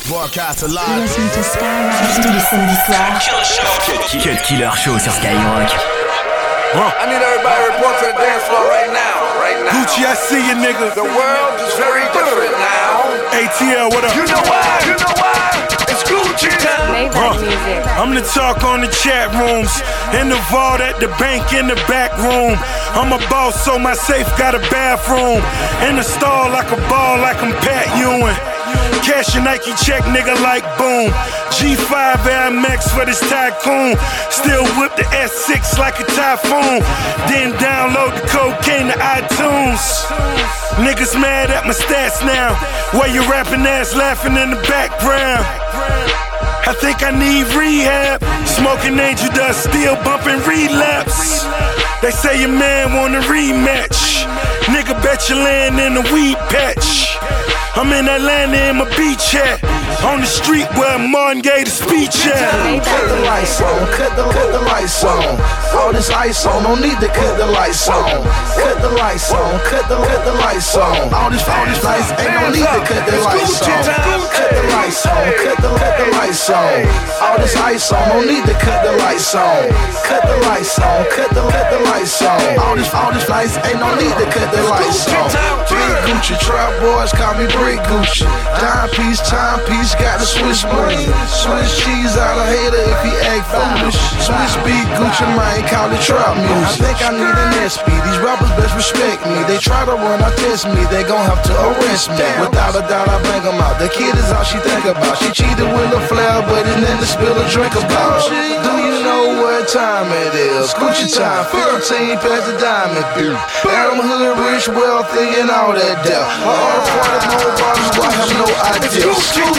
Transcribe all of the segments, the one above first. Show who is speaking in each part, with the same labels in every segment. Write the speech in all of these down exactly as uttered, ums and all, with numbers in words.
Speaker 1: Broadcast alive.
Speaker 2: Listen to Skyrock tous les samedis soirs.
Speaker 3: Cut Killer Show sur Skyrock.
Speaker 4: Huh. I need everybody to report to the dance floor right now, right now.
Speaker 5: Gucci, I see you, nigga.
Speaker 4: The world is very different now.
Speaker 5: A T L, what up?
Speaker 4: You know why? You know why? It's Gucci time.
Speaker 5: Huh. I'm the talk on the chat rooms, in the vault at the bank in the back room. I'm a boss, so my safe got a bathroom. In the stall like a ball, like I'm Pat Ewing. Cash your Nike check, nigga, like boom. G five Air Max for this tycoon. Still whip the S six like a typhoon. Then download the cocaine to iTunes. Niggas mad at my stats now. Why you rapping ass laughing in the background? I think I need rehab. Smoking angel dust, still bumping relapse. They say your man want a rematch. Nigga, bet you land in a weed patch. I'm in Atlanta in my beach hat. On the street where Martin gave the speech at.
Speaker 6: Cut the lights on, cut the, cut the lights on. All this ice on, no need to cut the lights on. Cut the lights on, cut the, cut the lights on. All this, all this lights, ain't no need to cut the lights on. Cut the lights on, cut the, cut the lights on. All this ice on, no need to cut the lights on. Cut the lights on, cut the, cut the lights on. All this, all this lights, ain't no need to cut the lights on. Big Gucci, trap boys call me Brick Gucci. Dime piece, time piece, got the Swiss money. Swiss cheese out of hater if he act foolish. Swiss beat Gucci, man, call it trap music. I think I need an S P. These rappers best respect me. They try to run, I test me. They gon' have to arrest me. Without a doubt, I bang them out. The kid is all she think about. She cheated with a flair, but it never spill a drink about. Do you know what time it is? Gucci time, fifteen past the diamond bill. Adam Hood, rich, wealthy, and all that debt. All party, more bottles, I have no idea.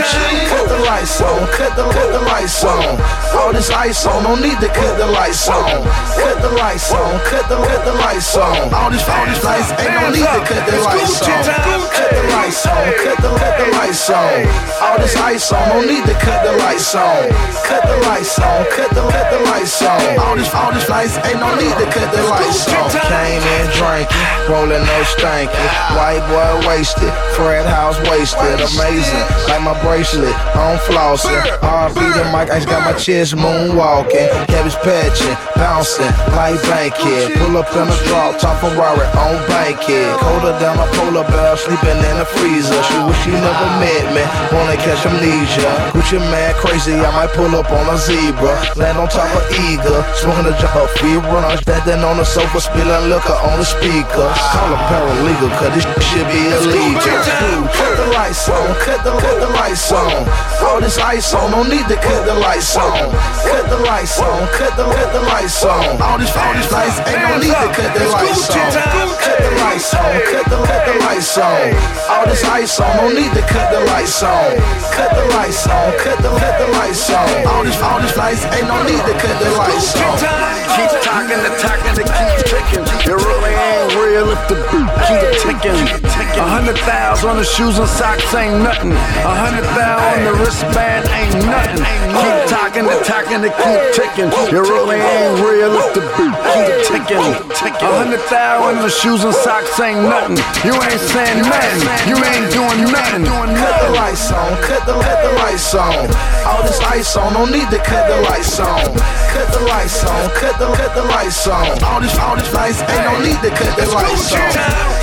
Speaker 6: Cut the lights on, cut the, cut the lights on. All this ice on, no need to cut the lights on. Cut the lights on, cut the, cut the lights on. All this, all these lights, ain't no need to cut the lights on. Cut the lights on, cut the, cut the lights on. All this ice on, no need to cut the lights on. Cut the lights on, cut the, cut the lights on. All this, all these lights, ain't no need to cut the lights on. Came in drinking, rolling no stanky. White boy wasted, Fred House wasted. Amazing, like my bracelet, I'm flossing. R B the mic, I just got my chest moonwalking. Cabbage patching, bouncing, like Bankhead. Pull up in a drop, top Ferrari on Bankhead. Colder down a polar bear, sleeping in a freezer. She wish she never met me, wanna catch amnesia. Gucci man crazy, I might pull up on a zebra. Land on top of eagle, smoking a jar of feet runners. Standing on the sofa, spilling liquor on the speaker. Call a paralegal, cause this shit be illegal. Cut the lights on, cut the, cut the lights on. All this ice on, no need to cut the lights on. Cut the lights on, cut the, cut the lights on. All this, all these lights, ain't no need to cut the lights on. Cut the lights on, cut the, cut the lights on. All this ice on, no need to cut the lights on. Cut the lights on, cut the, cut the lights on. All this, all these lights, ain't no need to cut the lights on.
Speaker 4: Keep talking, the talking, the keep ticking. It really ain't real if the beat keep ticking. A hundred thousand on the shoes and socks ain't nothing. A hundred thousand on the wristband ain't nothing. Keep talking, the talking, the keep ticking. It really ain't real if the beat keep ticking. A hundred thousand on the shoes and socks ain't nothing. You ain't saying nothing. You ain't doing nothing.
Speaker 6: Cut the lights on, cut the, cut the lights on. All this ice on, no need to cut the lights on. Cut the lights on, cut the, cut the lights on. All this, all this lights, ain't no need to cut the lights on.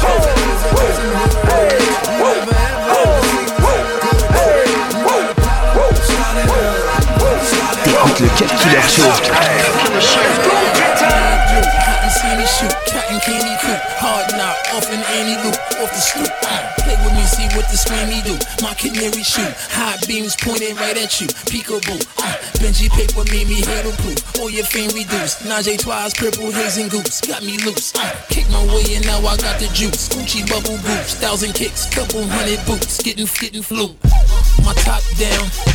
Speaker 3: T'écoutes le Cut Killer Show.
Speaker 7: Cotton candy coop, hard knock, off an Annie loop, off the stoop. Uh, play with me, see what the screamy do. My canary shoot, high beams pointing right at you. Peekaboo, uh, Benji paper made me hurdle proof. All your fame reduced. Najee Twice, purple haze and goose, got me loose. Uh, kick my way and now I got the juice. Gucci bubble boots, thousand kicks, couple hundred boots, getting getting flu. My top down,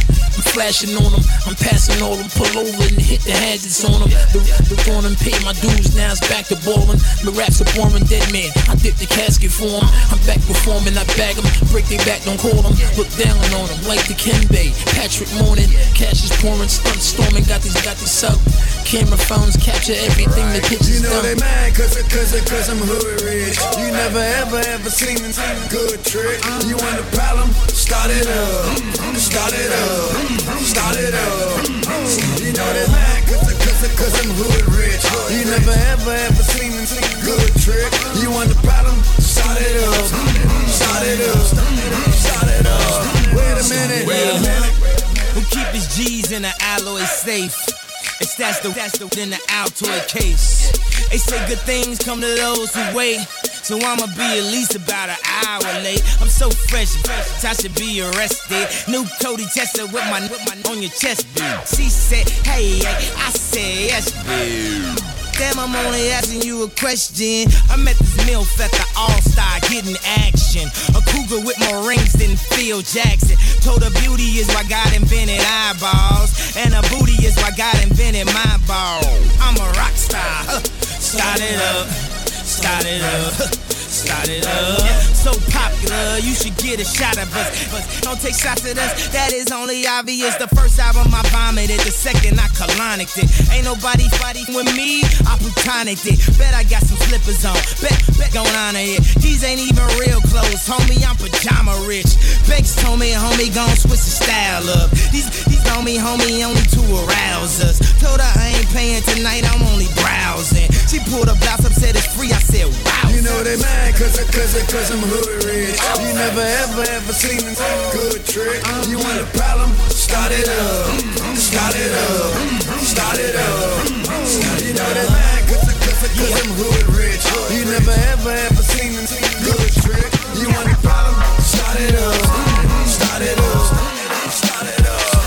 Speaker 7: I'm flashing on them, I'm passing all them, pull over and hit the hazards on them. The, the one and pay my dues, now it's back to ballin'. My raps are boring, dead man, I dip the casket for them. I'm back performing, I bag them, break they back, don't call them. Look down on them, like the Kenbay, Patrick Morning. Cash is pouring, stunt storming, got these, got these up. Camera phones capture everything, the pictures
Speaker 1: you know
Speaker 7: done.
Speaker 1: They mad cause, cause, cause I'm hood rich. You never ever ever seen a good trick. You want a problem? Start it up, start it up, start it up. You know they mad cause, cause, cause I'm hood rich. You never ever ever seen a good trick. You want a problem? Start it up, start it up, start it up. Wait a minute, wait a minute.
Speaker 8: Who keep his G's in an alloy safe? It's that's the that's the in the Altoid case. They say good things come to those who wait. So I'ma be at least about an hour late. I'm so fresh, fresh, I should be arrested. New Cody Tester with my with my on your chest, dude. She said, hey, I said yes, dude. Damn, I'm only asking you a question. I met this MILF at the All-Star getting action. A cougar with more rings than Phil Jackson. Told her beauty is why God invented eyeballs. And her booty is why God invented my ball. I'm a rock star. Huh. Start it up. Start it up. Start it up. So popular, you should get a shot of us. But don't take shots at us, that is only obvious. The first album I vomited, the second I colonicked it. Ain't nobody fighting with me, I plutonicked it. Bet I got some slippers on, bet, bet gon' honor it. These ain't even real clothes, homie, I'm pajama rich. Banks told me, homie, gon' switch the style up. These, these on me, homie, only to arouse us. Told her I ain't paying tonight, I'm only browsing. She pulled a blouse up, said it's free, I said wow.
Speaker 1: You know they mad cause, cause, cause I'm hood rich. You never ever ever seen a good trick. You want a problem? Start it up, start it up, start it up. You know they mad cause, cause, cause I'm hood rich. You never ever ever seen a good trick. You want a problem? Start it up, start it up, start it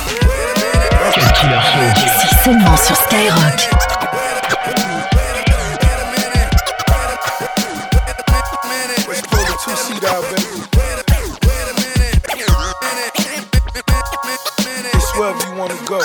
Speaker 1: up.
Speaker 2: Cut Killer Show. Ici seulement sur Skyrock.
Speaker 5: Go.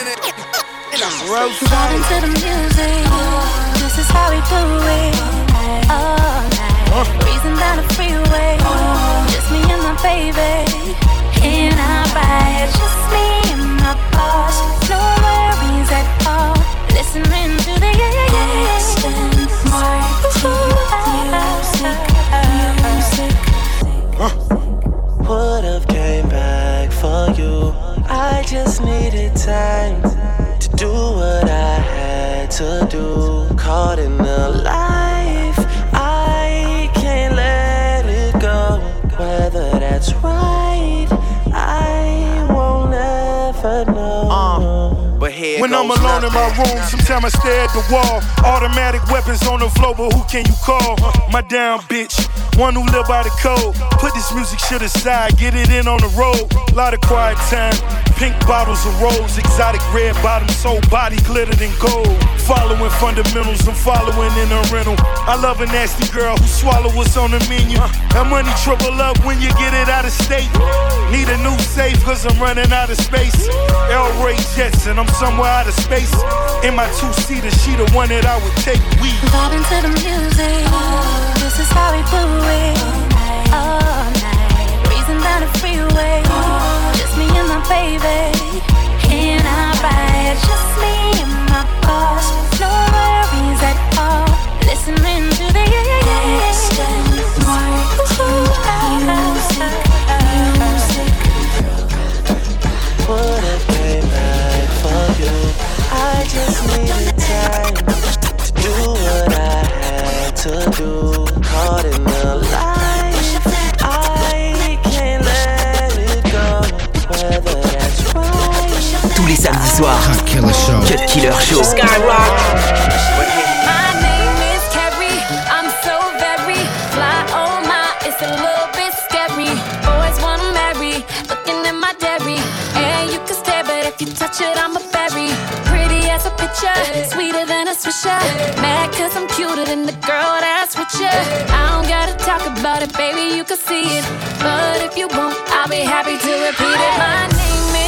Speaker 9: Vibing to the music, this is how we do it. All night, breezing down the freeway, just me and my baby. In our ride, just me and my boss. No worries at all. Listening to the instant music.
Speaker 10: Would've came back for you. I just needed time to do what I had to do. Caught in the life, I can't let it go. Whether that's right, I won't ever know. Uh, but here
Speaker 5: when I'm alone in my room, sometimes I stare at the wall. Automatic weapons on the floor, but who can you call? My down bitch, one who live by the code. Put this music shit aside, get it in on the road. Lot of quiet time. Pink bottles of rose, exotic red bottoms, whole body glittered in gold. Following fundamentals, I'm following in a rental. I love a nasty girl who swallow what's on the menu. That money triple up when you get it out of state. Need a new safe cause I'm running out of space. El Ray Jetson, I'm somewhere out of space. In my two-seater, she the one that I would take. We
Speaker 9: vibing to the music, this is how we do it. All night, breezing down the freeway, just me and my baby. In our ride, just me and my boss. No worries at all. Listening to the instant music.
Speaker 10: Would've came back for you. I just needed time to do what I had to do. Caught in the life, I can't let it go. Whether that's right.
Speaker 2: Tous les samedis soirs,
Speaker 3: Cut Killer Show.
Speaker 2: Cut Killer Show.
Speaker 9: Skyrock. My name is Carrie. I'm so very fly. Oh my, it's a little bit scary. Boys wanna marry, looking at my dairy. And you can stare, but if you touch it, I'm a berry. Pretty as a picture, sweeter than a swisher. Mad cause I'm cuter than the girl that's with you. I don't gotta talk about it, baby, you can see it. But if you want, I'll be happy to repeat it. My name is Carrie.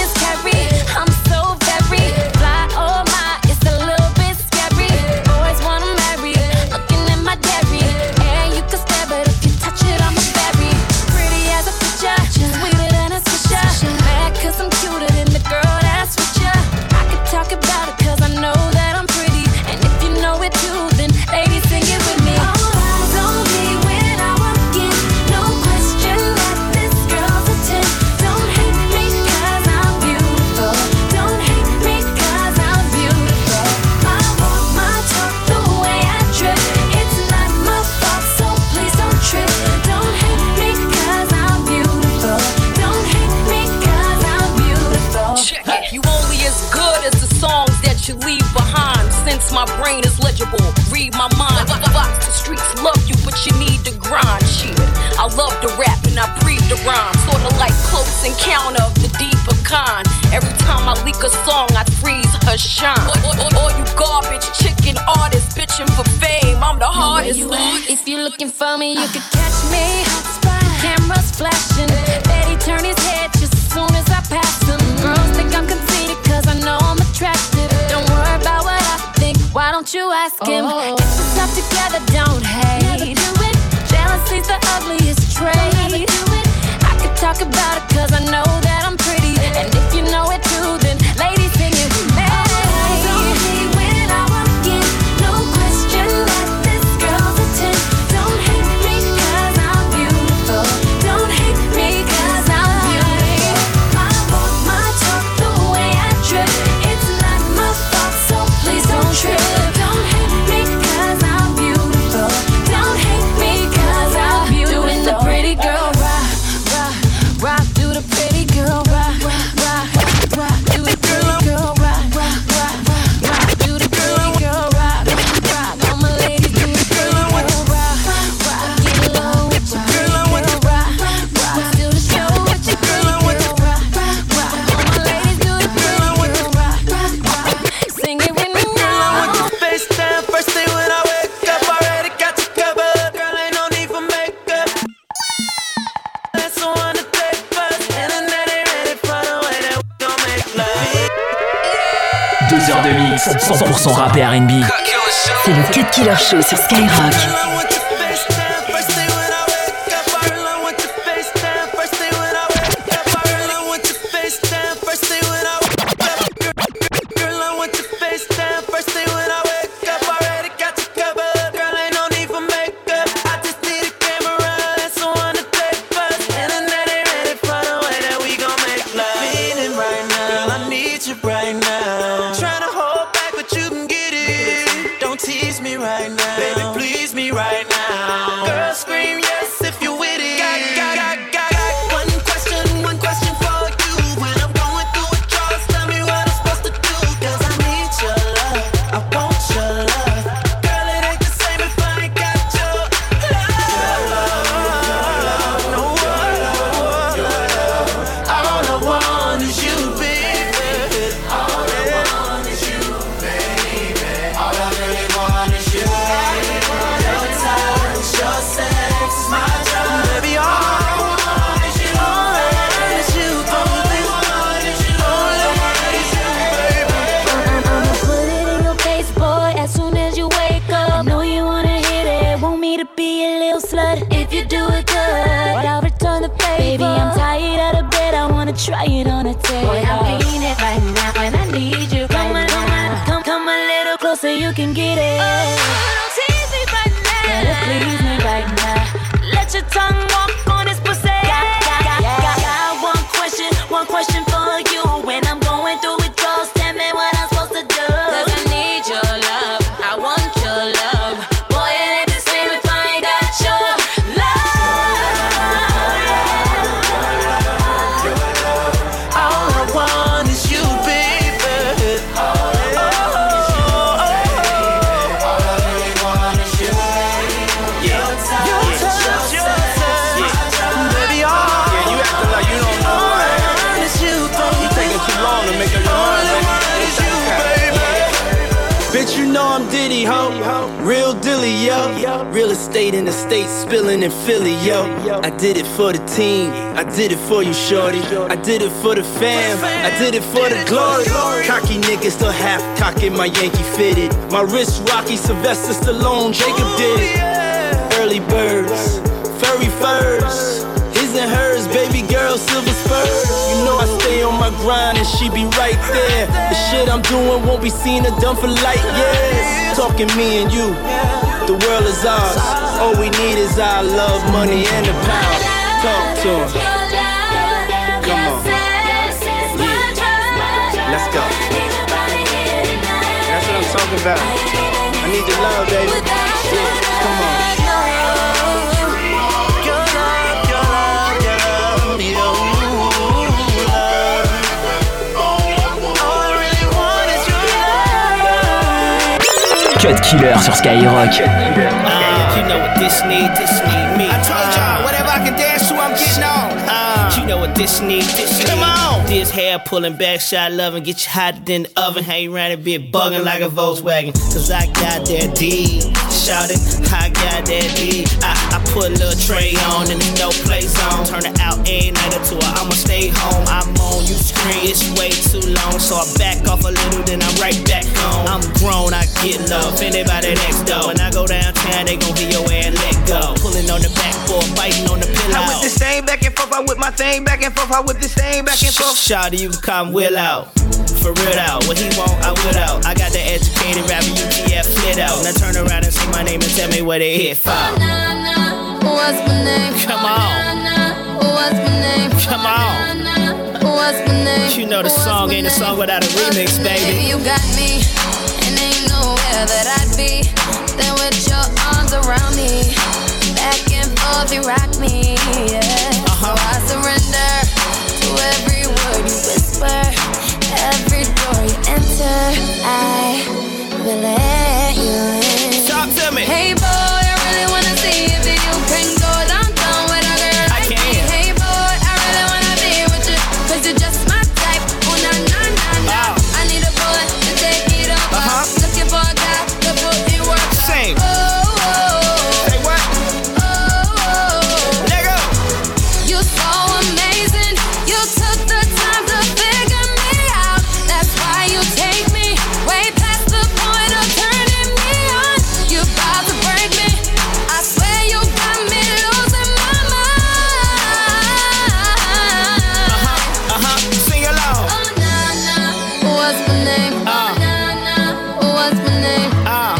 Speaker 9: Mary. I'm so very fly. Oh my, it's a little bit scary. Boys wanna marry, looking at my dairy. And you can stare, but if you touch it, I'm a berry. Pretty as a picture, sweeter than a swisher. Mad cause I'm cuter than the girl that's with ya. I could talk about it cause I know that I'm pretty. And if you know it too, then ladies sing it with me. All eyes on me when I walk in. No question that this girl's a ten. Don't hate me cause I'm beautiful. Don't hate me cause I'm beautiful. My walk, my talk, the way I drip. It's not my fault, so please don't trip. Don't hate me cause I'm beautiful. Don't hate me cause I'm beautiful.
Speaker 11: Check it. You only as good as the songs that you leave behind. Since my brain is legible, read my mind. Box, the streets love you, but you need to grind. Shit, I love to rap and I breathe the rhyme. Sorta like Close Encounter of the deeper kind. Every time I leak a song, I freeze her shine. All you garbage chicken artists bitching for fame, I'm the hardest.
Speaker 9: If you're looking for me, you can catch me. Cameras flashing, Betty turn his head just as soon as I pass him. Girls think I'm conceited cause I know I'm attractive. Don't worry about what I think, why don't you ask him?
Speaker 12: Oh.
Speaker 9: Get yourself together, don't hate. Never do it. Jealousy's the ugliest trait. Never do it. I could talk about it cause I know that I'm pretty. And if you know it too, then ladies sing it with me. Don't be when I walk in. No question that this girl's a ten. Don't hate me cause I'm beautiful. Don't hate me cause I'm beautiful. My walk, my talk, the way I drip. It's not my fault, so please don't trip. Don't hate me cause I'm beautiful. Don't hate me cause I'm beautiful. Doing the pretty girl rock, rock, rock. Do the pretty girl rock, rock, rock. Do the pretty girl rock, rock, rock, rock. Do the pretty girl rock, rock. All my ladies do the pretty girl rock, rock. Get low with your pretty girl rock, rock. Do the show with your pretty girl rock, rock. All my ladies do the pretty girl rock, rock. Sing it with me now.
Speaker 10: I want your face down first thing when I wake up. Already got you covered, girl, ain't no need for makeup. That's the one to take first, internet ain't ready for the way that we gon' make love.
Speaker 13: Deux heures de mix, cent pour cent rap et R and B.
Speaker 2: C'est le Cut Killer Show sur Skyrock.
Speaker 10: I want your face down first thing when I wake up. Girl, I want your face down first thing when I wake up. Girl, I want your face down first thing when I wake up. Girl, I want your face down first thing when I wake up. Already got you covered, girl, ain't no need for makeup. I just need a camera, that's the one to take first. Internet ain't ready for the way that we gon' make love. Feeling right now, I need you right now. Tryna hold back, but you can get it. Don't tease me right now, baby, please me right now. Girl, scream yes if you with it. Got, got, got, got, got one question, one question for you. When I'm going through withdrawals, tell me what I'm supposed to do. Cause I need your love, I want your love. Girl, it ain't the same if I ain't got your love. No, all I want is you, baby. All I want is you, baby. All I really want is you. Your touch, your sex, my drug. Baby, all I want is you. All I want is you, baby. All I want is you. All I want is you, baby.
Speaker 9: I'ma put it in your face, boy, as soon as you wake up. Know you wanna hit it, want me to be a little slut. If you do it good, I'll return the favor. Baby, I'm tired of the bed, I wanna try it on a table. Boy, I'm feeling it right now, and I need you right come now. Come, come a little closer, you can get it. Oh, don't tease me right now. Better please me right now. Let your tongue walk on this pussy. Got, got, got, got, got one question, one question for you. When I'm going through withdrawals, tell me what I'm supposed to do. Cause I need your love, I want your love. Boy, it ain't the same if I ain't got your love.
Speaker 10: All I want is you, baby. All I want is you, baby.
Speaker 8: Philly, ho. Real dilly, yo. Real estate in the States, spilling in Philly, yo. I did it for the team. I did it for you, shorty. I did it for the fam. I did it for the glory. Cocky niggas still half cocking my Yankee fitted. My wrist rocky, Sylvester Stallone, Jacob did it. Early birds, furry furs. His and hers, baby girl, silver spurs. You know I stay on my grind and she be right there. The shit I'm doing won't be seen or done for light years. Talking me and you, the world is ours. All we need is our love, money, and the power. Talk to him. Come on. Yeah. Let's go. That's what I'm talking about. I need your love, baby. Yeah. Come on.
Speaker 13: Cut Killer sur Skyrock.
Speaker 8: Uh, you know what this need, this need me. I told y'all, whatever I can dance to, I'm getting on. Uh, you know what this need, this need. Come on. This hair pulling back, shot loving, get you hotter than the oven. Hang around and be bugging like a Volkswagen. Cause I got that D. Shout it, I got that D. I, I put a little tray on and there's no play zone. Turn it out every night or two, I'ma stay home. I'm on, you scream, it's way too long. So I back off a little, then I'm right back home. I'm grown, I get love. Anybody next door. When I go downtown, they gon' hear your ass and let go. Pulling on the backboard, biting on the pillow. I whip this thing back and forth, I whip my thing back and forth, I whip this thing back and forth. Shawty, you can come Will out. For real out, what he want, I will out. I got the educated rapper, U T F flit out. Now turn around and say my name and tell me what they hit for.
Speaker 9: Oh, nah, nah. What's my name?
Speaker 8: Come on.
Speaker 9: Nah, nah. What's my name?
Speaker 8: Come on.
Speaker 9: Nah, nah. What's my name?
Speaker 8: You know the song ain't a song without a remix, baby.
Speaker 9: Baby, you got me, and ain't nowhere that I'd be. Then with your arms around me, back and forth you rock me, yeah. Uh-huh. So I surrender to every word you whisper, every door you enter. I will let you in.
Speaker 8: Talk to me.
Speaker 9: Hey boy, I really wanna see if you can go downtown with a girl like me. Hey boy, I really wanna be with you, cause you're just my type. Oh na na na na. Oh. I need a boy to take it over. Uh-huh. Looking for a guy to put in work.
Speaker 8: Same.
Speaker 9: Oh, oh, oh.
Speaker 8: Say what?
Speaker 9: Oh, oh, oh.
Speaker 8: Let go.
Speaker 9: You're so amazing. You took the time to figure me out. That's why you take me way past the point of turning me on. You're about to break me. I swear you got me losing my mind.
Speaker 8: Uh-huh, uh-huh. Sing along.
Speaker 9: Oh, nah, nah. What's my name?
Speaker 8: Uh.
Speaker 9: Oh, nah, nah. What's my name?
Speaker 8: Uh.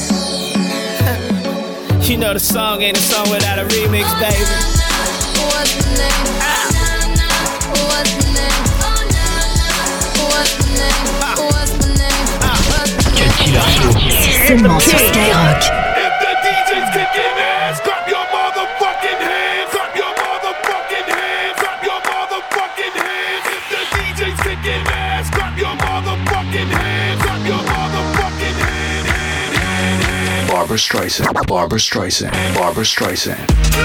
Speaker 8: You know the song ain't a song without a remix,
Speaker 9: Oh,
Speaker 8: baby.
Speaker 9: nah, nah. What's my name?
Speaker 8: Ah.
Speaker 9: Oh, nah, nah. What's my name? Oh, nah, nah. What's my name?
Speaker 8: Ah.
Speaker 9: What's my name?
Speaker 8: Ah.
Speaker 9: What's my
Speaker 13: Cut
Speaker 9: name?
Speaker 13: Killer Show.
Speaker 2: Seulement sur Skyrock.
Speaker 5: If the D J's kicking ass, clap your motherfucking hands. Clap your motherfucking hands. Clap your motherfucking hands. If the D J's kicking ass, clap your motherfucking hands. Clap your motherfucking hands. Hand, hand, hand.
Speaker 3: Barbra Streisand, Barbra Streisand, Barbra Streisand.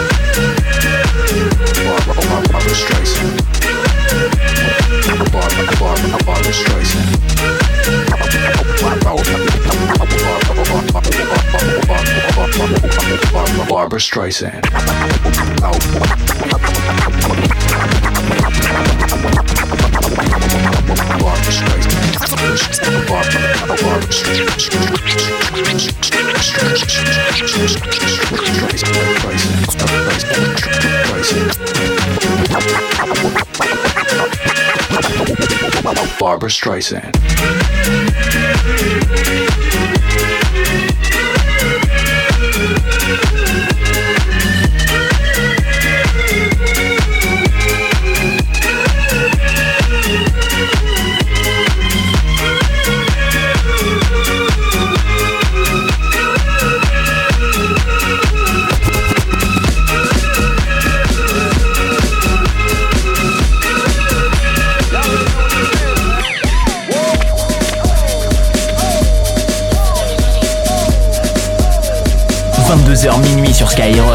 Speaker 3: Barbra, Barbra, Barbra Streisand. Barbra, Barbra, Barbra Streisand. Barbra Streisand. Barbra Streisand.
Speaker 13: vingt-deux heures minuit sur Skyrock.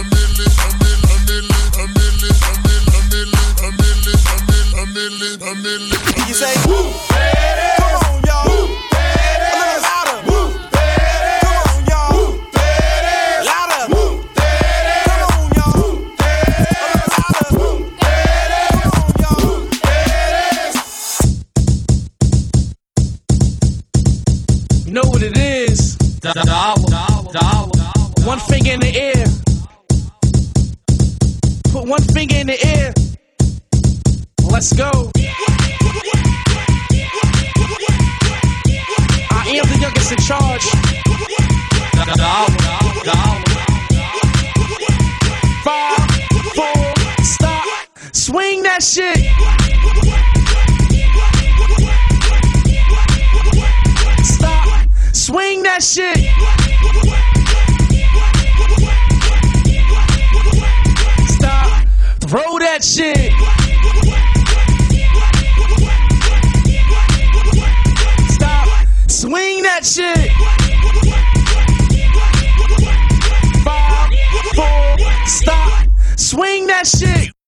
Speaker 14: You say, woo, come on, y'all. Woo, a little louder. Woo, come on, y'all. Woo, louder. Woo, come on, y'all. A little louder. Woo, come on, y'all.
Speaker 15: You know what it is? One finger in the air. Put one finger in the air. Let's go. I am the youngest in charge. Five, four, stop. Swing that shit. Stop. Swing that shit. Stop. Throw that shit. Swing that shit. Five, four, stop. Swing that shit.